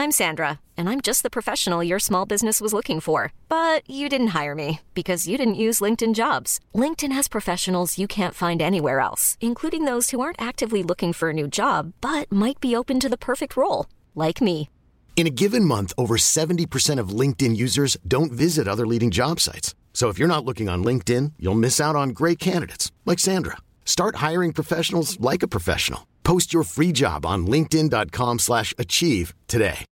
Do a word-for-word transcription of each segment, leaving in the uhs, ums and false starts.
I'm Sandra, and I'm just the professional your small business was looking for. But you didn't hire me because you didn't use LinkedIn Jobs. LinkedIn has professionals you can't find anywhere else, including those who aren't actively looking for a new job, but might be open to the perfect role, like me. In a given month, over seventy percent of LinkedIn users don't visit other leading job sites. So if you're not looking on LinkedIn, you'll miss out on great candidates like Sandra. Start hiring professionals like a professional. Post your free job on linkedin dot com slash achieve today.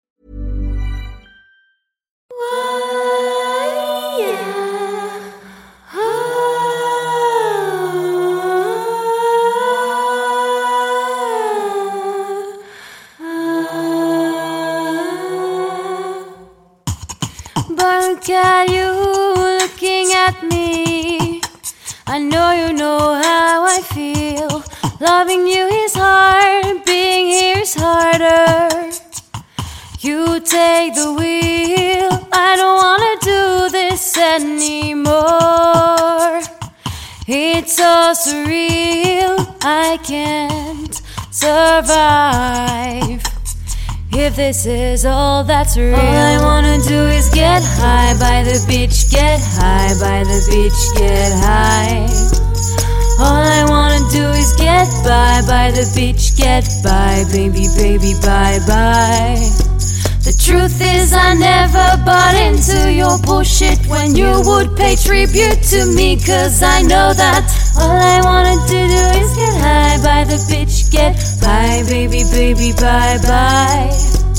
But look at you looking at me. I know you know how I feel. Loving you is hard, being here is harder. You take the wheel, I don't wanna do this anymore. It's so surreal, I can't survive if this is all that's real. All I wanna do is get high by the beach, get high by the beach, get high. All I wanna do is get by by the beach, get by, baby, baby, bye, bye. The truth is I never bought into your bullshit when you would pay tribute to me, cause I know that all I wanted to do is get high by the beach, get by, baby, baby, bye, bye.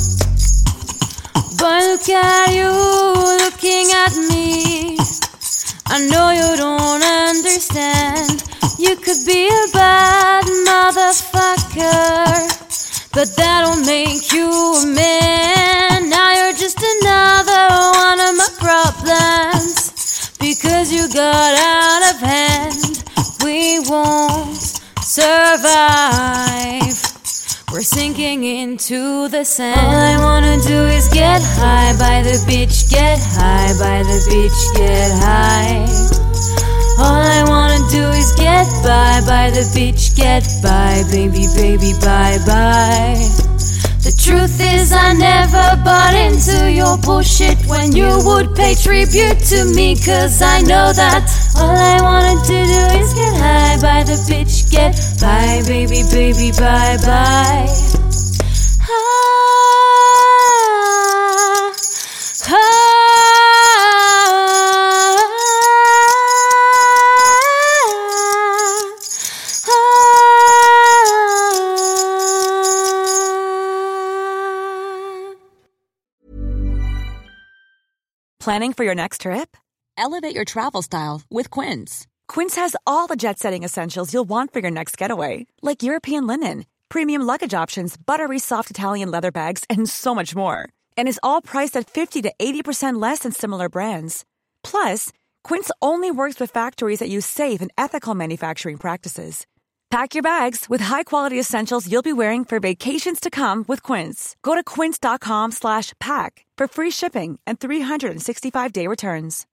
But look at you looking at me. I know you don't understand. You could be a bad motherfucker, but that don't make you a man. Now you're just another one of my problems, because you got out of hand. We won't survive, we're sinking into the sand. All I wanna do is get high by the beach, get high by the beach, get high. All I wanna do is get by by the beach, get by, baby, baby, bye, bye. The truth is I never bought into your bullshit when you would pay tribute to me, cause I know that all I wanted to do is get high by the beach, get by, baby, baby, bye, bye. Ah, ah. Planning for your next trip? Elevate your travel style with Quince. Quince has all the jet-setting essentials you'll want for your next getaway, like European linen, premium luggage options, buttery soft Italian leather bags, and so much more. And is all priced at fifty to eighty percent less than similar brands. Plus, Quince only works with factories that use safe and ethical manufacturing practices. Pack your bags with high-quality essentials you'll be wearing for vacations to come with Quince. Go to quince dot com slash pack for free shipping and three sixty-five day returns.